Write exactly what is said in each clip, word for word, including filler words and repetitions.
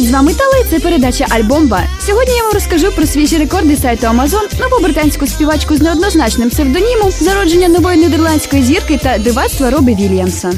Привіт, з вами Тала, і це передача «Альбомба». Сьогодні я вам розкажу про свіжі рекорди сайту Amazon, нову британську співачку з неоднозначним псевдонімом, зародження нової нідерландської зірки та дивацтва Робі Вільямса.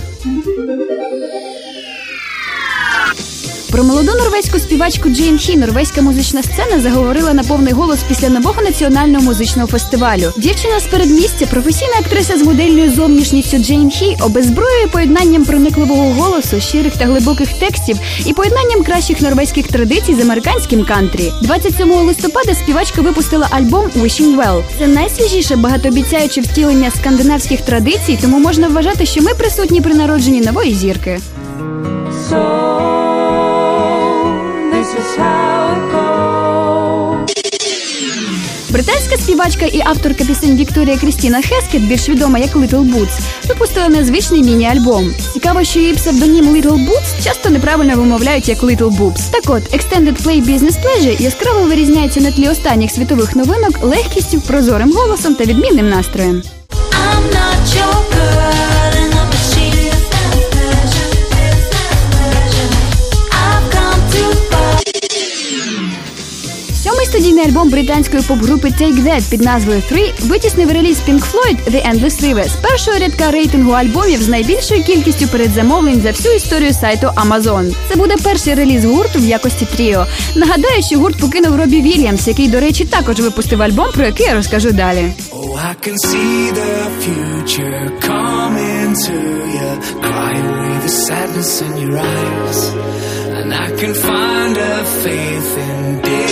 Про молоду норвезьку співачку Джейн Хі норвезька музична сцена заговорила на повний голос після нового національного музичного фестивалю. Дівчина з передмістя, професійна актриса з модельною зовнішністю Джейн Хі, обезброює поєднанням проникливого голосу, щирих та глибоких текстів і поєднанням кращих норвезьких традицій з американським кантрі. двадцять сьомого листопада співачка випустила альбом «Wishing Well». Це найсвіжіше багатообіцяюче втілення скандинавських традицій, тому можна вважати, що ми присутні при народженні нової зірки. Британська співачка і авторка пісень Вікторія Крістіна Хескет, більш відома як Little Boots, випустила незвичний міні-альбом. Цікаво, що її псевдонім Little Boots часто неправильно вимовляють як Little Boobs. Так от, Extended Play Business Pleasure яскраво вирізняється на тлі останніх світових новинок легкістю, прозорим голосом та відмінним настроєм. Сьомий студійний альбом британської поп-групи Take That під назвою «Three» витіснив реліз Pink Floyd «The Endless River» з першого рядка рейтингу альбомів з найбільшою кількістю передзамовлень за всю історію сайту Amazon. Це буде перший реліз гурту в якості тріо. Нагадаю, що гурт покинув Робі Вільямс, який, до речі, також випустив альбом, про який я розкажу далі. Oh, I can see the future coming to you, cry away the sadness in your eyes, and I can find a faith in day.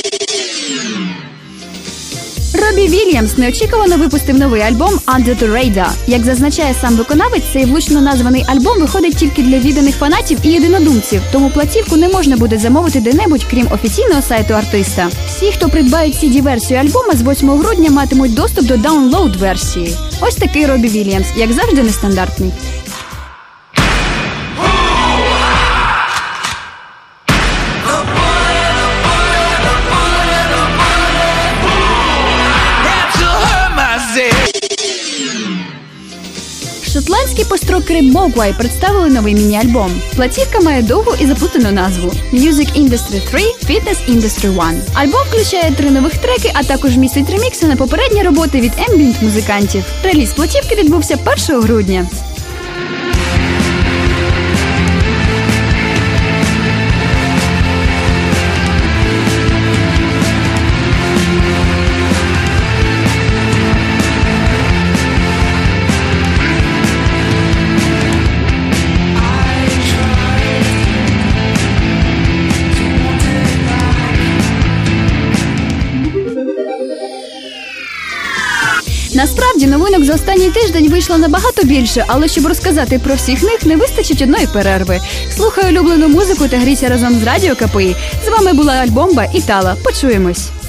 Робі Вільямс неочікувано випустив новий альбом «Under the Radar». Як зазначає сам виконавець, цей влучно названий альбом виходить тільки для відданих фанатів і єдинодумців, тому платівку не можна буде замовити де-небудь, крім офіційного сайту артиста. Всі, хто придбають сі ді-версію альбома, з восьмого грудня матимуть доступ до даунлоуд-версії. Ось такий Робі Вільямс, як завжди нестандартний. Шотландські построкери Mogwai представили новий міні-альбом. Платівка має довгу і заплутану назву «Music Industry три – Fitness Industry один». Альбом включає три нових треки, а також містить ремікси на попередні роботи від ембієнт-музикантів. Реліз платівки відбувся першого грудня. Насправді, новинок за останній тиждень вийшло набагато більше, але щоб розказати про всіх них, не вистачить одної перерви. Слухай улюблену музику та грійся разом з Радіо ка пе і. З вами була Альбомба і Тала. Почуємось!